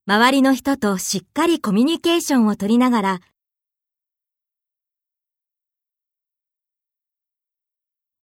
周りの人としっかりコミュニケーションを取りながら